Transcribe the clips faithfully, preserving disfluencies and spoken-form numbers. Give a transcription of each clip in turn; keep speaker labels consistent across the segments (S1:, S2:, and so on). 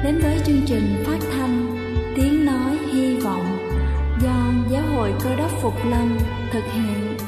S1: đến với chương trình phát thanh Tiếng Nói Hy Vọng do Giáo hội Cơ Đốc Phục Lâm thực hiện.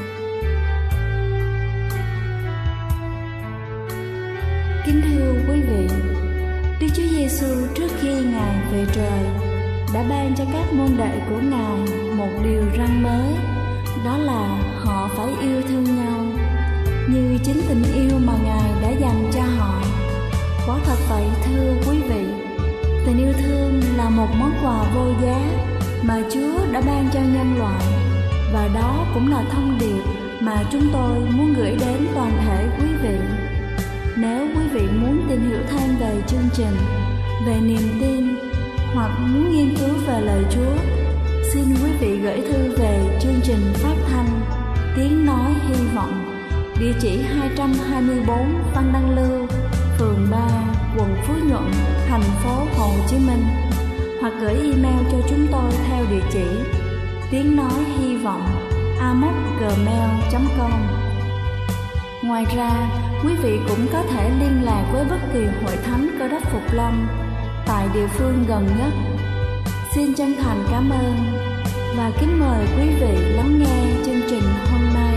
S1: Kính thưa quý vị, Đức Chúa Giêsu trước khi Ngài về trời đã ban cho các môn đệ của Ngài một điều răn mới, đó là họ phải yêu thương nhau như chính tình yêu mà Ngài đã dành cho họ. Quả thật vậy thưa quý vị, tình yêu thương là một món quà vô giá mà Chúa đã ban cho nhân loại, và đó cũng là thông điệp mà chúng tôi muốn gửi đến toàn thể quý vị. Nếu quý vị muốn tìm hiểu thêm về chương trình, về niềm tin hoặc muốn nghiên cứu về lời Chúa, xin quý vị gửi thư về chương trình phát thanh Tiếng Nói Hy Vọng, địa chỉ hai trăm hai mươi bốn Văn Đăng Lưu, phường ba, quận Phú Nhuận, thành phố Hồ Chí Minh, hoặc gửi email cho chúng tôi theo địa chỉ tiếng nói hy vọng a m o c gmail chấm com. Ngoài ra, quý vị cũng có thể liên lạc với bất kỳ hội thánh Cơ Đốc Phục Lâm tại địa phương gần nhất. Xin chân thành cảm ơn và kính mời quý vị lắng nghe chương trình hôm nay.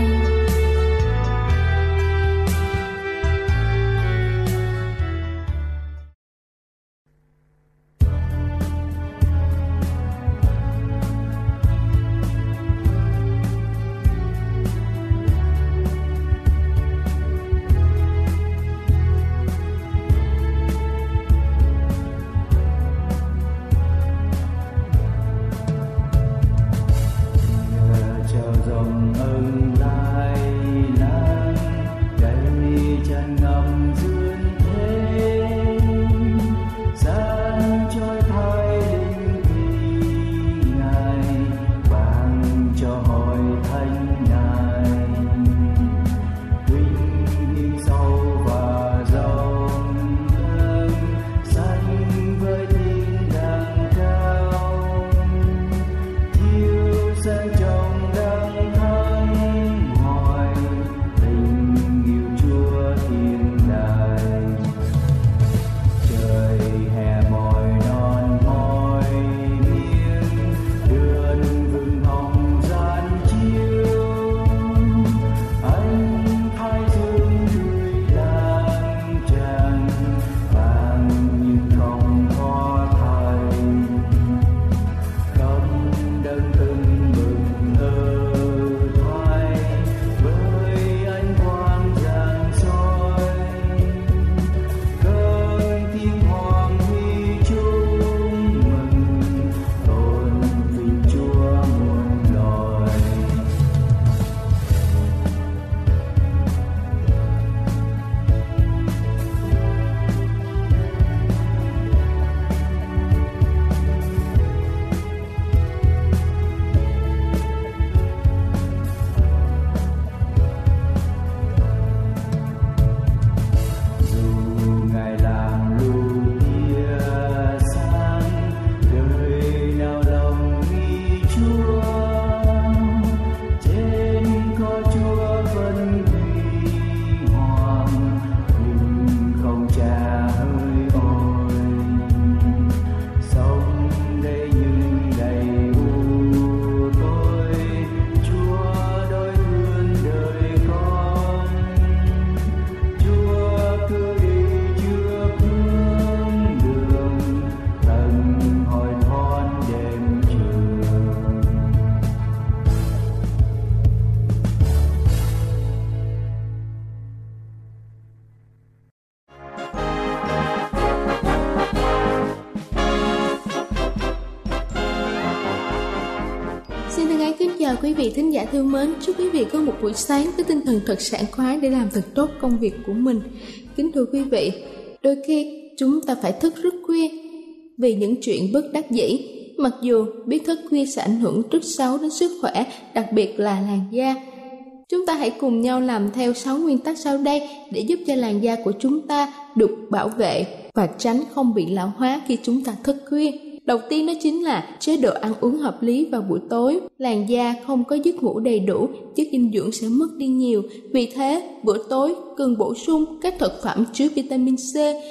S2: Quý vị thính giả thương mến, chúc quý vị có một buổi sáng với tinh thần thật sảng khoái để làm thật tốt công việc của mình. Kính thưa quý vị, đôi khi chúng ta phải thức rất khuya vì những chuyện bất đắc dĩ, mặc dù biết thức khuya sẽ ảnh hưởng rất xấu đến sức khỏe, đặc biệt là làn da. Chúng ta hãy cùng nhau làm theo sáu nguyên tắc sau đây để giúp cho làn da của chúng ta được bảo vệ và tránh không bị lão hóa khi chúng ta thức khuya. Đầu tiên đó chính là chế độ ăn uống hợp lý vào buổi tối. Làn da không có giấc ngủ đầy đủ, chất dinh dưỡng sẽ mất đi nhiều. Vì thế, bữa tối cần bổ sung các thực phẩm chứa vitamin C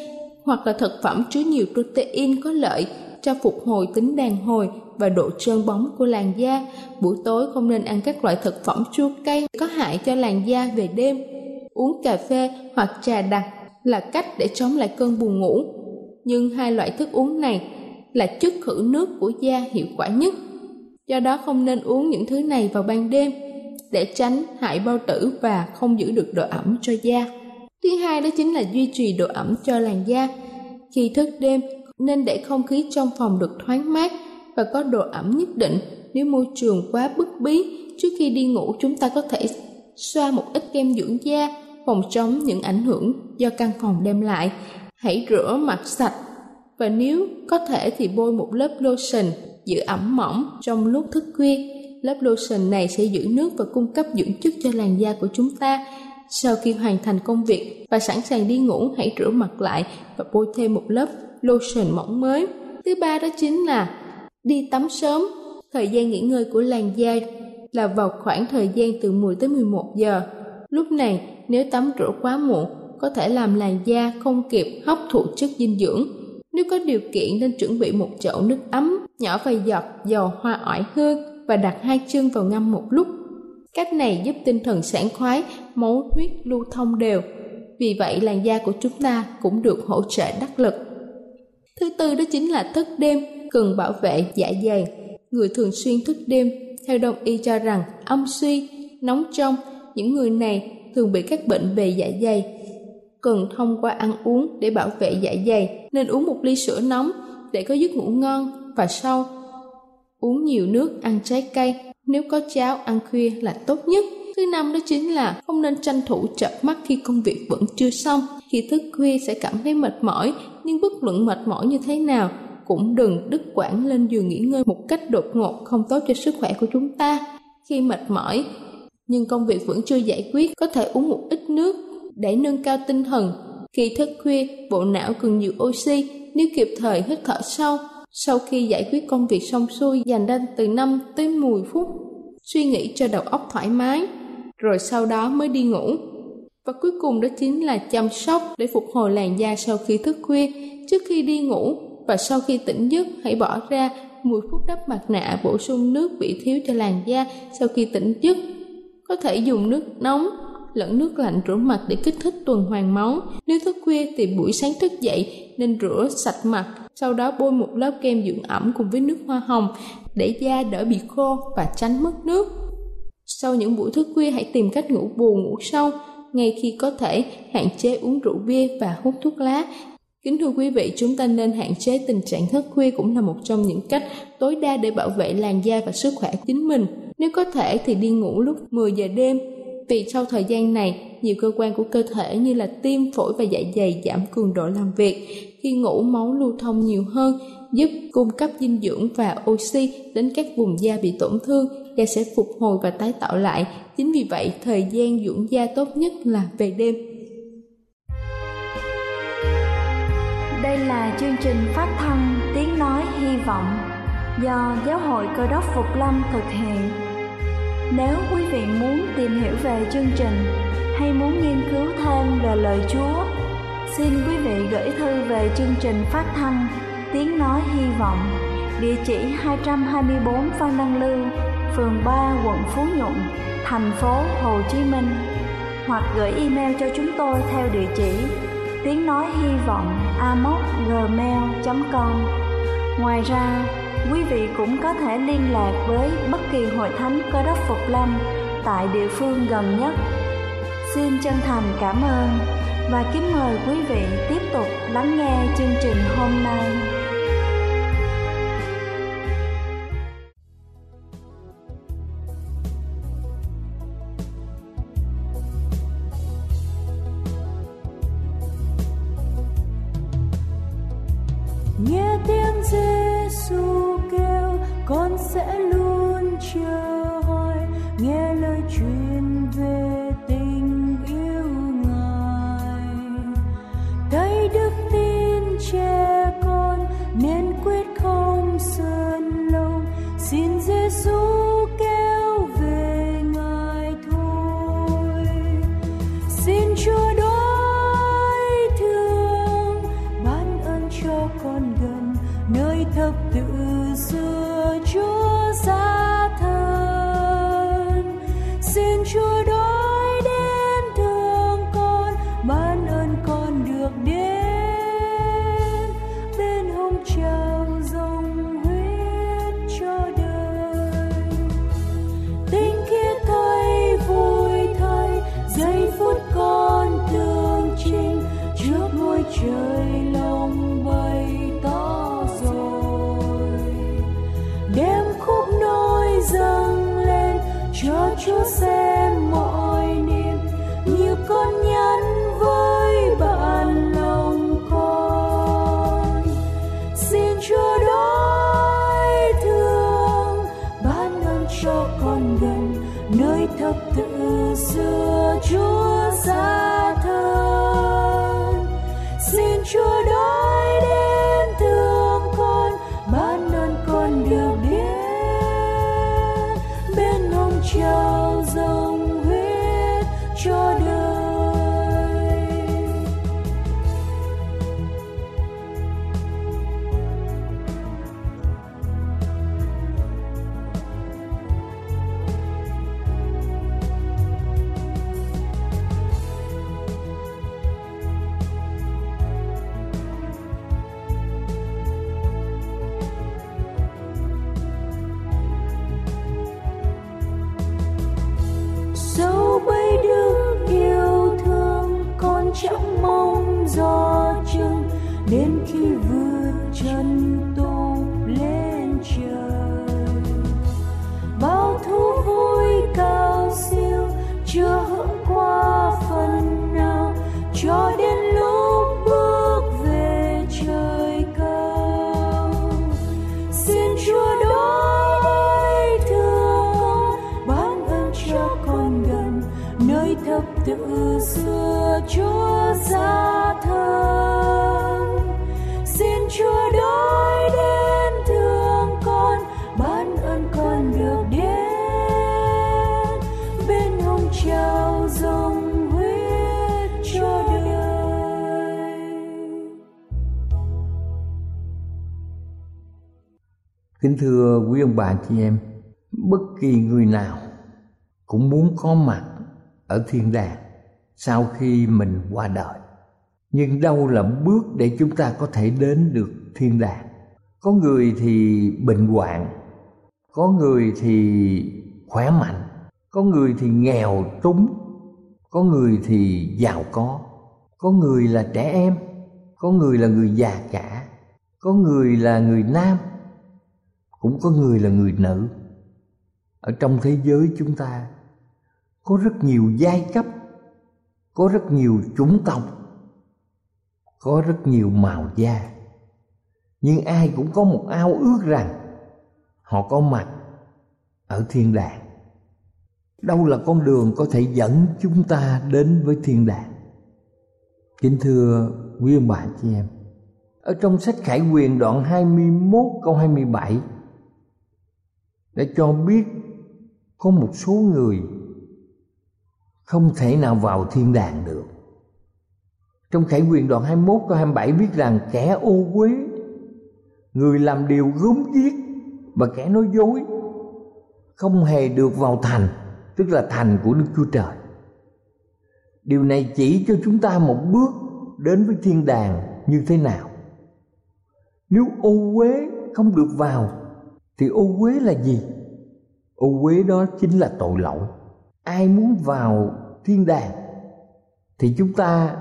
S2: hoặc là thực phẩm chứa nhiều protein có lợi cho phục hồi tính đàn hồi và độ trơn bóng của làn da. Buổi tối không nên ăn các loại thực phẩm chua cay có hại cho làn da về đêm. Uống cà phê hoặc trà đặc là cách để chống lại cơn buồn ngủ. Nhưng hai loại thức uống này là chất khử nước của da hiệu quả nhất. Do đó không nên uống những thứ này vào ban đêm để tránh hại bao tử và không giữ được độ ẩm cho da. Thứ hai đó chính là duy trì độ ẩm cho làn da. Khi thức đêm nên để không khí trong phòng được thoáng mát và có độ ẩm nhất định. Nếu môi trường quá bức bí, trước khi đi ngủ chúng ta có thể xoa một ít kem dưỡng da phòng chống những ảnh hưởng do căn phòng đem lại. Hãy rửa mặt sạch và nếu có thể thì bôi một lớp lotion giữ ẩm mỏng trong lúc thức khuya. Lớp lotion này sẽ giữ nước và cung cấp dưỡng chất cho làn da của chúng ta. Sau khi hoàn thành công việc và sẵn sàng đi ngủ, hãy rửa mặt lại và bôi thêm một lớp lotion mỏng mới. Thứ ba đó chính là đi tắm sớm. Thời gian nghỉ ngơi của làn da là vào khoảng thời gian từ mười tới mười một giờ. Lúc này nếu tắm rửa quá muộn có thể làm làn da không kịp hấp thụ chất dinh dưỡng. Nếu có điều kiện nên chuẩn bị một chậu nước ấm, nhỏ vài giọt dầu hoa oải hương và đặt hai chân vào ngâm một lúc. Cách này giúp tinh thần sảng khoái, máu huyết lưu thông đều. Vì vậy làn da của chúng ta cũng được hỗ trợ đắc lực. Thứ tư đó chính là thức đêm cần bảo vệ dạ dày. Người thường xuyên thức đêm theo đông y cho rằng âm suy, nóng trong, những người này thường bị các bệnh về dạ dày. Cần thông qua ăn uống để bảo vệ dạ dày, nên uống một ly sữa nóng để có giấc ngủ ngon và sâu. Uống nhiều nước, ăn trái cây, nếu có cháo ăn khuya là tốt nhất. Thứ năm đó chính là không nên tranh thủ chợp mắt khi công việc vẫn chưa xong. Khi thức khuya sẽ cảm thấy mệt mỏi, nhưng bất luận mệt mỏi như thế nào cũng đừng đứt quãng lên giường nghỉ ngơi một cách đột ngột, không tốt cho sức khỏe của chúng ta. Khi mệt mỏi nhưng công việc vẫn chưa giải quyết, có thể uống một ít nước để nâng cao tinh thần. Khi thức khuya, bộ não cần nhiều oxy, nếu kịp thời hít thở sâu. Sau khi giải quyết công việc xong xuôi, dành ra từ năm tới mười phút suy nghĩ cho đầu óc thoải mái, rồi sau đó mới đi ngủ. Và cuối cùng đó chính là chăm sóc để phục hồi làn da sau khi thức khuya. Trước khi đi ngủ và sau khi tỉnh giấc, hãy bỏ ra mười phút đắp mặt nạ, bổ sung nước bị thiếu cho làn da sau khi tỉnh giấc. Có thể dùng nước nóng lẫn nước lạnh rửa mặt để kích thích tuần hoàn máu. Nếu thức khuya thì buổi sáng thức dậy nên rửa sạch mặt, sau đó bôi một lớp kem dưỡng ẩm cùng với nước hoa hồng để da đỡ bị khô và tránh mất nước. Sau những buổi thức khuya hãy tìm cách ngủ bù ngủ sâu, ngay khi có thể hạn chế uống rượu bia và hút thuốc lá. Kính thưa quý vị, chúng ta nên hạn chế tình trạng thức khuya cũng là một trong những cách tối đa để bảo vệ làn da và sức khỏe chính mình. Nếu có thể thì đi ngủ lúc mười giờ đêm, vì sau thời gian này, nhiều cơ quan của cơ thể như là tim, phổi và dạ dày giảm cường độ làm việc. Khi ngủ, máu lưu thông nhiều hơn, giúp cung cấp dinh dưỡng và oxy đến các vùng da bị tổn thương, da sẽ phục hồi và tái tạo lại. Chính vì vậy, thời gian dưỡng da tốt nhất là về đêm.
S1: Đây là chương trình phát thanh Tiếng Nói Hy Vọng do Giáo hội Cơ đốc Phục Lâm thực hiện. Nếu quý vị muốn tìm hiểu về chương trình hay muốn nghiên cứu thêm về lời Chúa, xin quý vị gửi thư về chương trình phát thanh Tiếng Nói Hy Vọng, địa chỉ hai trăm hai mươi bốn Phan Đăng Lưu, phường ba, quận Phú Nhuận, thành phố Hồ Chí Minh, hoặc gửi email cho chúng tôi theo địa chỉ tiếng nói hy vọng a m o gmail chấm com. Ngoài ra, quý vị cũng có thể liên lạc với bất kỳ hội thánh Cơ đốc Phục Lâm tại địa phương gần nhất. Xin chân thành cảm ơn và kính mời quý vị tiếp tục lắng nghe chương trình hôm nay.
S3: Nghe tiếng Giê-xu kêu, con sẽ luôn chờ hỏi, nghe lời truyền về tình yêu Ngài. Thấy đức tin trẻ con nên quyết không sơn lòng, xin Giê-xu kêu về Ngài thôi. Xin Chúa đối thương, ban thập tự xưa Chúa xa thân. Xin Chúa đói đến thương con, ban ơn con được đến bên hông trao dòng huyết cho đời.
S4: Kính thưa quý ông bà chị em, bất kỳ người nào cũng muốn có mặt ở thiên đàng sau khi mình qua đời. Nhưng đâu là bước để chúng ta có thể đến được thiên đàng? Có người thì bệnh hoạn, có người thì khỏe mạnh, có người thì nghèo túng, có người thì giàu có, có người là trẻ em, có người là người già cả, có người là người nam, cũng có người là người nữ. Ở trong thế giới chúng ta có rất nhiều giai cấp, có rất nhiều chủng tộc, có rất nhiều màu da. Nhưng ai cũng có một ao ước rằng họ có mặt ở thiên đàng. Đâu là con đường có thể dẫn chúng ta đến với thiên đàng? Kính thưa quý ông bà chị em, ở trong sách Khải Huyền đoạn hai mươi mốt câu hai mươi bảy đã cho biết có một số người không thể nào vào thiên đàng được. Trong Khải Huyền đoạn hai mươi mốt câu hai mươi bảy viết rằng kẻ ô uế, người làm điều gớm ghiếc và kẻ nói dối không hề được vào thành, tức là thành của Đức Chúa Trời. Điều này chỉ cho chúng ta một bước đến với thiên đàng như thế nào. Nếu ô uế không được vào thì ô uế là gì? Ô uế đó chính là tội lỗi. Ai muốn vào thiên đàng thì chúng ta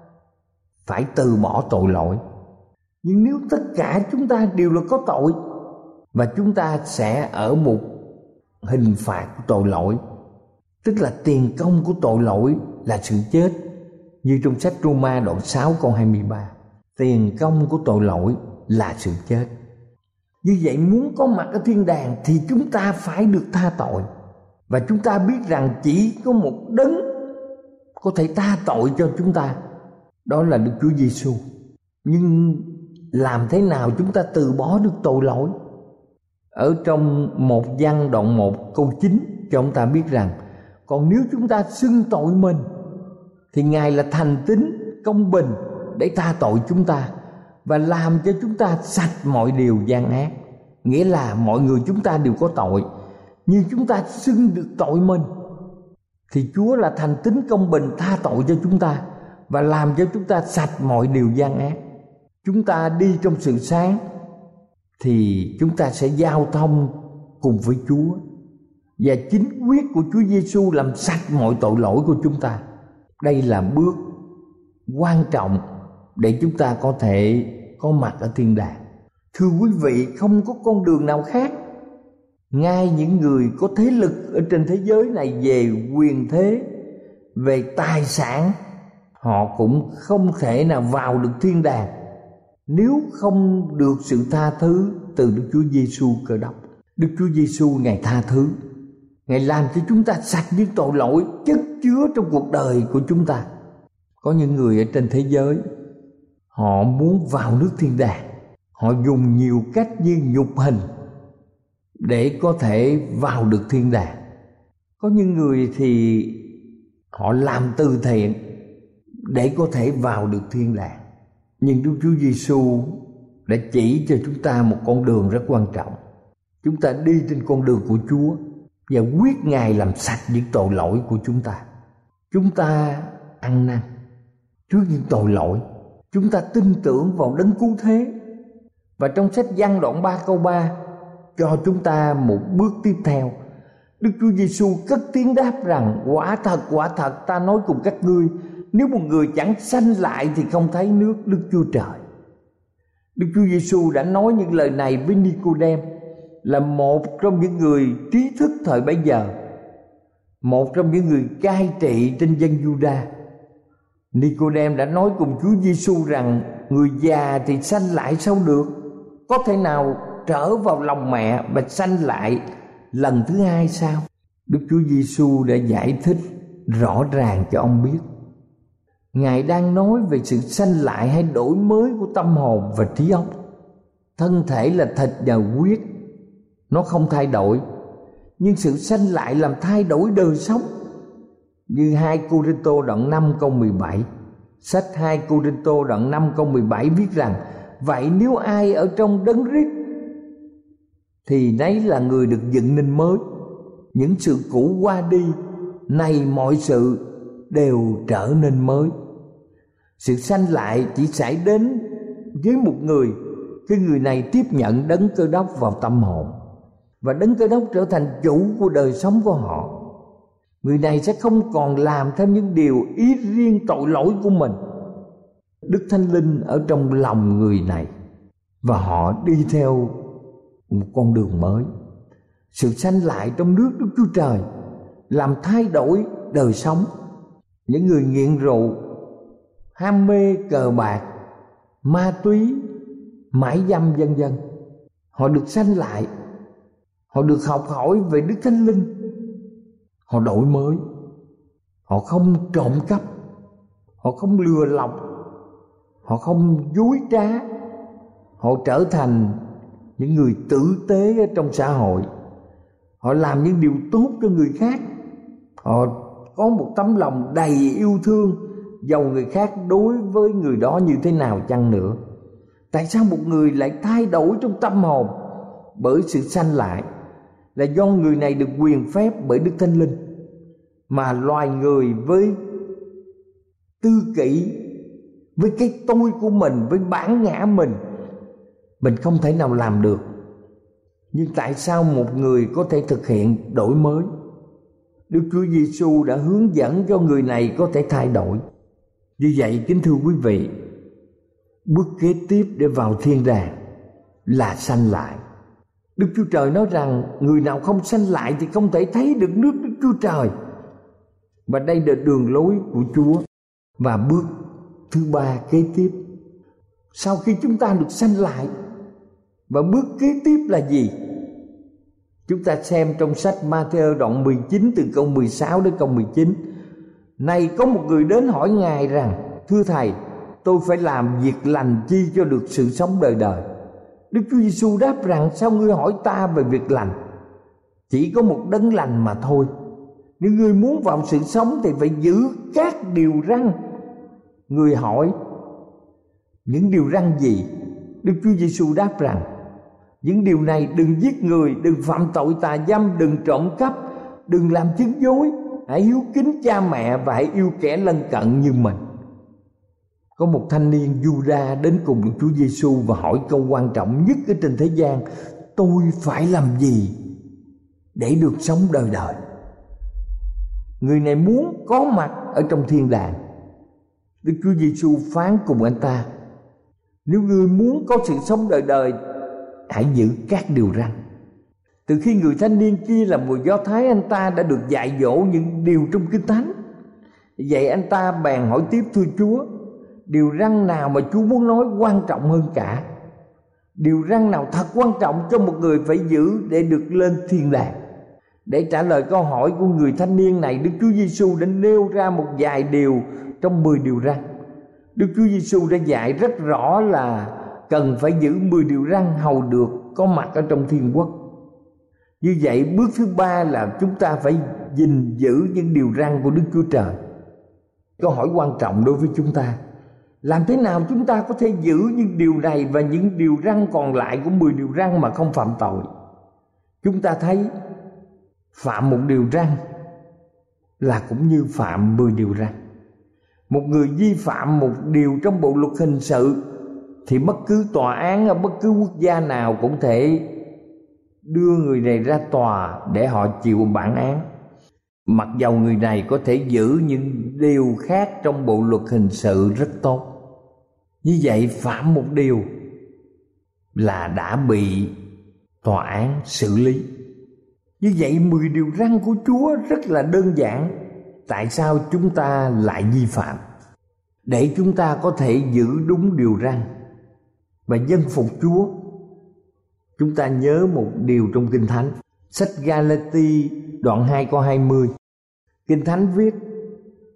S4: phải từ bỏ tội lỗi. Nhưng nếu tất cả chúng ta đều là có tội, và chúng ta sẽ ở một hình phạt của tội lỗi, tức là tiền công của tội lỗi là sự chết. Như trong sách Roma đoạn sáu câu hai mươi ba, tiền công của tội lỗi là sự chết. Như vậy muốn có mặt ở thiên đàng thì chúng ta phải được tha tội. Và chúng ta biết rằng chỉ có một đấng có thể tha tội cho chúng ta, đó là Đức Chúa Giêsu. Nhưng làm thế nào chúng ta từ bỏ được tội lỗi? Ở trong một Giăng đoạn một câu chín cho chúng ta biết rằng còn nếu chúng ta xưng tội mình thì Ngài là thành tín công bình để tha tội chúng ta và làm cho chúng ta sạch mọi điều gian ác. Nghĩa là mọi người chúng ta đều có tội, nhưng chúng ta xưng được tội mình thì Chúa là thành tín công bình tha tội cho chúng ta và làm cho chúng ta sạch mọi điều gian ác. Chúng ta đi trong sự sáng thì chúng ta sẽ giao thông cùng với Chúa, và chính huyết của Chúa Giêsu làm sạch mọi tội lỗi của chúng ta. Đây là bước quan trọng để chúng ta có thể có mặt ở thiên đàng. Thưa quý vị, không có con đường nào khác. Ngay những người có thế lực ở trên thế giới này về quyền thế, về tài sản, họ cũng không thể nào vào được thiên đàng nếu không được sự tha thứ từ Đức Chúa Giêsu Cơ Đốc. Đức Chúa Giêsu Ngài tha thứ, Ngài làm cho chúng ta sạch những tội lỗi chất chứa trong cuộc đời của chúng ta. Có những người ở trên thế giới, họ muốn vào nước thiên đàng, họ dùng nhiều cách như nhục hình để có thể vào được thiên đàng. Có những người thì họ làm từ thiện để có thể vào được thiên đàng. Nhưng Đức Chúa Giêsu đã chỉ cho chúng ta một con đường rất quan trọng. Chúng ta đi trên con đường của Chúa và quyết Ngài làm sạch những tội lỗi của chúng ta. Chúng ta ăn năn trước những tội lỗi, chúng ta tin tưởng vào đấng cứu thế. Và trong sách Giăng đoạn ba câu ba cho chúng ta một bước tiếp theo. Đức Chúa Giêsu cất tiếng đáp rằng: quả thật quả thật ta nói cùng các ngươi, nếu một người chẳng sanh lại thì không thấy nước Đức Chúa Trời. Đức Chúa Giêsu đã nói những lời này với Ni-cô-đêm, là một trong những người trí thức thời bấy giờ, một trong những người cai trị trên dân Giu-đa. Ni-cô-đêm đã nói cùng Chúa Giêsu rằng: người già thì sanh lại sao được? Có thể nào trở vào lòng mẹ và sanh lại lần thứ hai sao? Đức Chúa Giêsu đã giải thích rõ ràng cho ông biết. Ngài đang nói về sự sanh lại hay đổi mới của tâm hồn và trí óc. Thân thể là thịt và huyết, nó không thay đổi, nhưng sự sanh lại làm thay đổi đời sống. Như hai Cô-rinh-tô đoạn năm câu mười bảy, sách hai Cô-rinh-tô đoạn năm câu mười bảy viết rằng: vậy nếu ai ở trong Đấng Christ thì nấy là người được dựng nên mới, những sự cũ qua đi, này mọi sự đều trở nên mới. Sự sanh lại chỉ xảy đến với một người khi người này tiếp nhận Đấng Cơ Đốc vào tâm hồn, và Đấng Cơ Đốc trở thành chủ của đời sống của họ. Người này sẽ không còn làm theo những điều ý riêng tội lỗi của mình. Đức Thánh Linh ở trong lòng người này, và họ đi theo một con đường mới. Sự sanh lại trong nước Đức Chúa Trời làm thay đổi đời sống. Những người nghiện rượu, ham mê cờ bạc, ma túy, mãi dâm vân vân, họ được sanh lại. Họ được học hỏi về Đức Thánh Linh. Họ đổi mới. Họ không trộm cắp, họ không lừa lọc, họ không dối trá. Họ trở thành những người tử tế ở trong xã hội. Họ làm những điều tốt cho người khác. Họ có một tấm lòng đầy yêu thương, dầu người khác đối với người đó như thế nào chăng nữa. Tại sao một người lại thay đổi trong tâm hồn bởi sự sanh lại? Là do người này được quyền phép bởi Đức Thánh Linh, mà loài người với tư kỷ, với cái tôi của mình, với bản ngã mình, mình không thể nào làm được. Nhưng tại sao một người có thể thực hiện đổi mới? Đức Chúa Giêsu đã hướng dẫn cho người này có thể thay đổi. Như vậy, kính thưa quý vị, bước kế tiếp để vào thiên đàng là sanh lại. Đức Chúa Trời nói rằng người nào không sanh lại thì không thể thấy được nước Đức Chúa Trời. Và đây là đường lối của Chúa. Và bước thứ ba kế tiếp, sau khi chúng ta được sanh lại, và bước kế tiếp là gì? Chúng ta xem trong sách Ma-thi-ơ đoạn mười chín từ câu mười sáu đến câu mười chín. Này có một người đến hỏi Ngài rằng: thưa Thầy, tôi phải làm việc lành chi cho được sự sống đời đời? Đức Chúa Giêsu đáp rằng: sao ngươi hỏi ta về việc lành? Chỉ có một đấng lành mà thôi. Nếu ngươi muốn vào sự sống thì phải giữ các điều răn. Người hỏi: những điều răn gì? Đức Chúa Giêsu đáp rằng: những điều này: đừng giết người, đừng phạm tội tà dâm, đừng trộm cắp, đừng làm chứng dối, hãy hiếu kính cha mẹ và hãy yêu kẻ lân cận như mình. Có một thanh niên Giu-đa đến cùng Đức Chúa Giêsu và hỏi câu quan trọng nhất ở trên thế gian: tôi phải làm gì để được sống đời đời? Người này muốn có mặt ở trong thiên đàng. Đức Chúa Giêsu phán cùng anh ta: nếu ngươi muốn có sự sống đời đời, hãy giữ các điều răn. Từ khi người thanh niên kia là người Do Thái, anh ta đã được dạy dỗ những điều trong Kinh Thánh. Vậy anh ta bèn hỏi tiếp: thưa Chúa, điều răn nào mà Chúa muốn nói quan trọng hơn cả? Điều răn nào thật quan trọng cho một người phải giữ để được lên thiên đàng? Để trả lời câu hỏi của người thanh niên này, Đức Chúa Giêsu đã nêu ra một vài điều trong mười điều răn. Đức Chúa Giêsu đã dạy rất rõ là cần phải giữ mười điều răn hầu được có mặt ở trong thiên quốc. Như vậy, bước thứ ba là chúng ta phải gìn giữ những điều răn của Đức Chúa Trời. Câu hỏi quan trọng đối với chúng ta: làm thế nào chúng ta có thể giữ những điều này và những điều răn còn lại của mười điều răn mà không phạm tội? Chúng ta thấy phạm một điều răn là cũng như phạm mười điều răn. Một người vi phạm một điều trong bộ luật hình sự thì bất cứ tòa án ở bất cứ quốc gia nào cũng thể đưa người này ra tòa để họ chịu bản án, mặc dầu người này có thể giữ những điều khác trong bộ luật hình sự rất tốt. Như vậy, phạm một điều là đã bị tòa án xử lý. Như vậy, mười điều răn của Chúa rất là đơn giản. Tại sao chúng ta lại vi phạm? Để chúng ta có thể giữ đúng điều răn và dân phục Chúa, chúng ta nhớ một điều trong Kinh Thánh. Sách Ga-la-ti đoạn hai câu hai mươi, Kinh Thánh viết: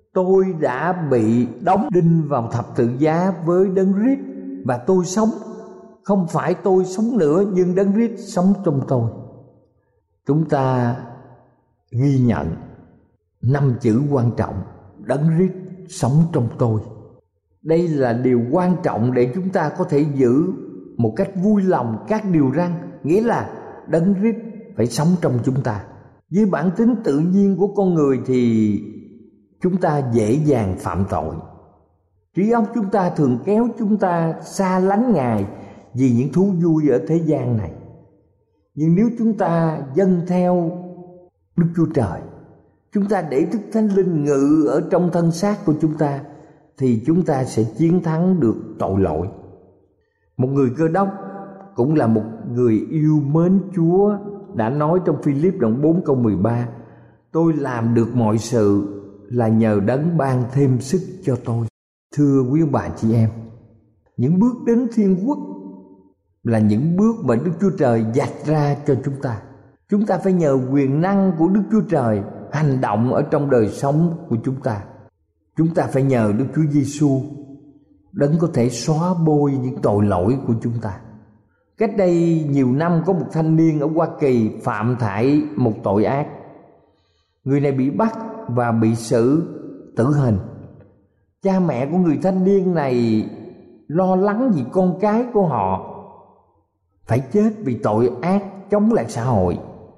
S4: Tôi đã bị đóng đinh vào thập tự giá với Đấng Christ và tôi sống. Không phải tôi sống nữa, nhưng Đấng Christ sống trong tôi. Chúng ta ghi nhận năm chữ quan trọng: Đấng Christ sống trong tôi. Đây là điều quan trọng để chúng ta có thể giữ một cách vui lòng các điều răn, nghĩa là Đấng Christ phải sống trong chúng ta. Với bản tính tự nhiên của con người thì chúng ta dễ dàng phạm tội. Trí óc chúng ta thường kéo chúng ta xa lánh Ngài vì những thú vui ở thế gian này. Nhưng nếu chúng ta dâng theo Đức Chúa Trời, chúng ta để Đức Thánh Linh ngự ở trong thân xác của chúng ta, thì chúng ta sẽ chiến thắng được tội lỗi. Một người Cơ Đốc cũng là một người yêu mến Chúa đã nói trong Phi-líp đoạn bốn câu mười ba: tôi làm được mọi sự là nhờ Đấng ban thêm sức cho tôi. Thưa quý ông bà chị em, những bước đến thiên quốc là những bước mà Đức Chúa Trời vạch ra cho chúng ta. Chúng ta phải nhờ quyền năng của Đức Chúa Trời hành động ở trong đời sống của chúng ta. Chúng ta phải nhờ Đức Chúa Giêsu, Đấng có thể xóa bôi những tội lỗi của chúng ta. Cách đây nhiều năm có một thanh niên ở Hoa Kỳ phạm phải một tội ác. Người này bị bắt và bị xử tử hình. Cha mẹ của người thanh niên này lo lắng vì con cái của họ phải chết vì tội ác chống lại xã hội.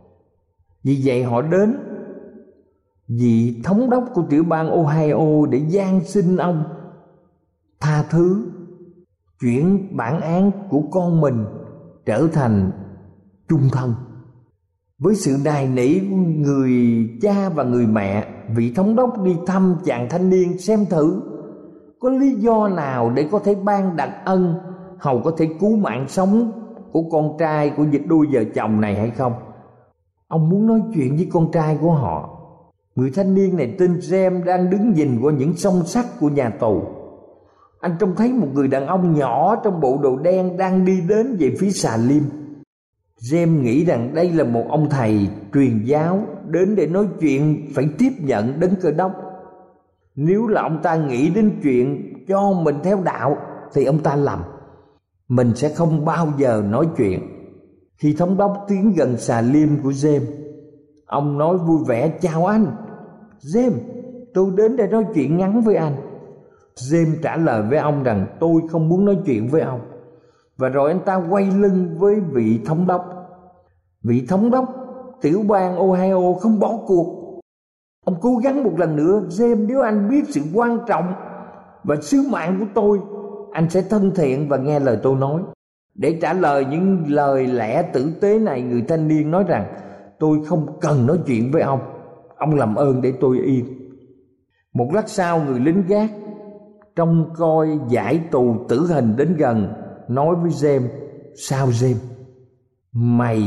S4: Vì vậy họ đến vị thống đốc của tiểu bang Ohio để van xin ông tha thứ, chuyển bản án của con mình trở thành chung thân. Với sự nài nỉ của người cha và người mẹ, vị thống đốc đi thăm chàng thanh niên xem thử có lý do nào để có thể ban đặc ân hầu có thể cứu mạng sống của con trai của đôi vợ chồng này hay không. Ông muốn nói chuyện với con trai của họ. Người thanh niên này tên James đang đứng nhìn qua những song sắt của nhà tù. Anh trông thấy một người đàn ông nhỏ trong bộ đồ đen đang đi đến về phía xà lim. James nghĩ rằng đây là một ông thầy truyền giáo đến để nói chuyện phải tiếp nhận Đấng Cơ Đốc. Nếu là ông ta nghĩ đến chuyện cho mình theo đạo thì ông ta lầm. Mình sẽ không bao giờ nói chuyện. Khi thống đốc tiến gần xà lim của James, ông nói vui vẻ: chào anh James, tôi đến để nói chuyện ngắn với anh. James trả lời với ông rằng tôi không muốn nói chuyện với ông. Và rồi anh ta quay lưng với vị thống đốc. Vị thống đốc tiểu bang Ohio không bỏ cuộc. Ông cố gắng một lần nữa: James, nếu anh biết sự quan trọng và sứ mạng của tôi, anh sẽ thân thiện và nghe lời tôi nói. Để trả lời những lời lẽ tử tế này, người thanh niên nói rằng tôi không cần nói chuyện với ông. Ông làm ơn để tôi yên. Một lát sau, người lính gác trông coi giải tù tử hình đến gần, nói với James: sao James, mày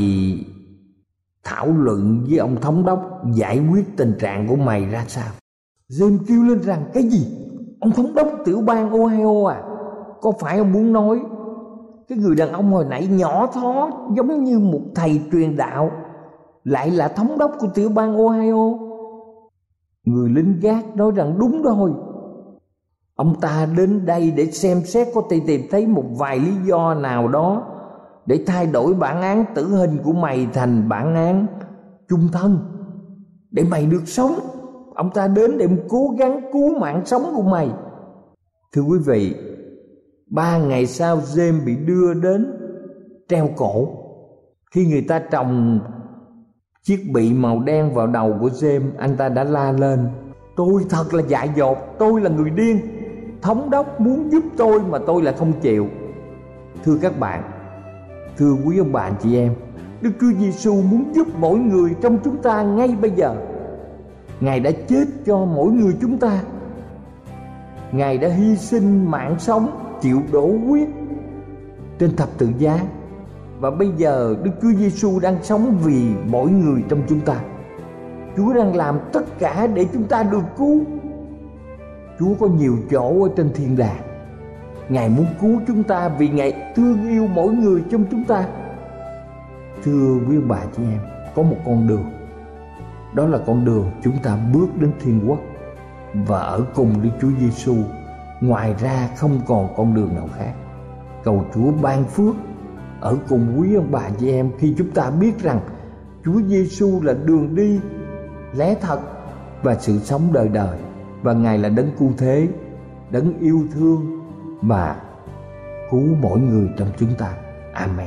S4: thảo luận với ông thống đốc giải quyết tình trạng của mày ra sao? James kêu lên rằng: cái gì? Ông thống đốc tiểu bang Ohio à? Có phải ông muốn nói cái người đàn ông hồi nãy nhỏ thó giống như một thầy truyền đạo lại là thống đốc của tiểu bang Ohio? Người lính gác nói rằng đúng rồi. Ông ta đến đây để xem xét có thể tìm thấy một vài lý do nào đó để thay đổi bản án tử hình của mày thành bản án chung thân, để mày được sống. Ông ta đến để cố gắng cứu mạng sống của mày. Thưa quý vị, ba ngày sau James bị đưa đến treo cổ. Khi người ta trồng chiếc bị màu đen vào đầu của James, anh ta đã la lên: tôi thật là dại dột, tôi là người điên. Thống đốc muốn giúp tôi mà tôi lại không chịu. Thưa các bạn, thưa quý ông bà anh chị em, Đức Chúa Giêsu muốn giúp mỗi người trong chúng ta ngay bây giờ. Ngài đã chết cho mỗi người chúng ta. Ngài đã hy sinh mạng sống, chịu đổ huyết trên thập tự giá. Và bây giờ Đức Chúa Giêsu đang sống vì mỗi người trong chúng ta. Chúa đang làm tất cả để chúng ta được cứu. Chúa có nhiều chỗ ở trên thiên đàng. Ngài muốn cứu chúng ta vì Ngài thương yêu mỗi người trong chúng ta. Thưa quý bà chị em, có một con đường. Đó là con đường chúng ta bước đến thiên quốc. và ở cùng Đức Chúa Giêsu. Ngoài ra không còn con đường nào khác. Cầu Chúa ban phước ở cùng quý ông bà chị em khi chúng ta biết rằng Chúa Giêsu là đường đi, lẽ thật và sự sống đời đời, và Ngài là đấng cứu thế, đấng yêu thương và cứu mỗi người trong chúng ta. Amen.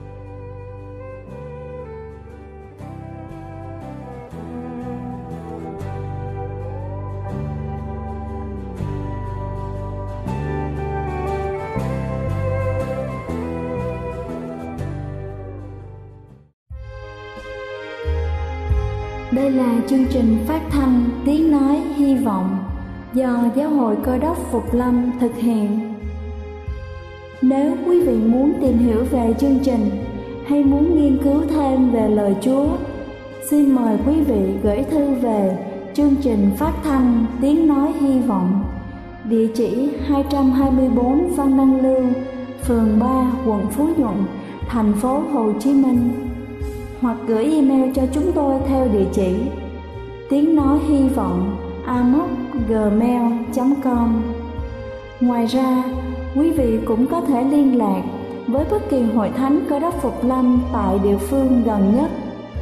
S1: Đây là chương trình phát thanh Tiếng Nói Hy Vọng do Giáo hội Cơ đốc Phục Lâm thực hiện. Nếu quý vị muốn tìm hiểu về chương trình hay muốn nghiên cứu thêm về lời Chúa, xin mời quý vị gửi thư về chương trình phát thanh Tiếng Nói Hy Vọng, địa chỉ hai trăm hai mươi bốn Phan Đăng Lưu, phường ba, quận Phú Nhuận, thành phố Hồ Chí Minh, hoặc gửi email cho chúng tôi theo địa chỉ tiếng nói hy vọng a m o c gmail chấm com. Ngoài ra, quý vị cũng có thể liên lạc với bất kỳ hội thánh Cơ đốc Phục Lâm tại địa phương gần nhất.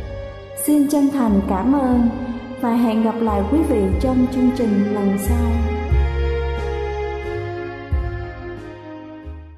S1: Xin chân thành cảm ơn và hẹn gặp lại quý vị trong chương trình lần sau.